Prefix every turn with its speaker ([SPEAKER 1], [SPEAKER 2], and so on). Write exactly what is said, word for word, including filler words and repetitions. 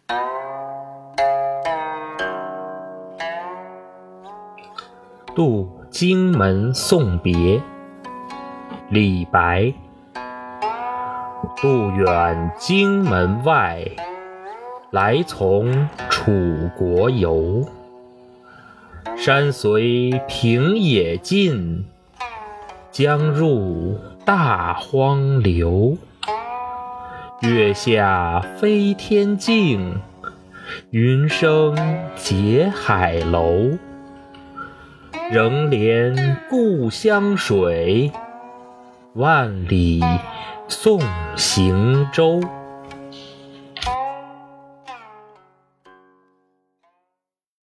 [SPEAKER 1] 渡荆门送别，李白。渡远荆门外，来从楚国游。山随平野尽，江入大荒流。月下飞天镜，云生结海楼。仍怜故乡水，万里送行舟。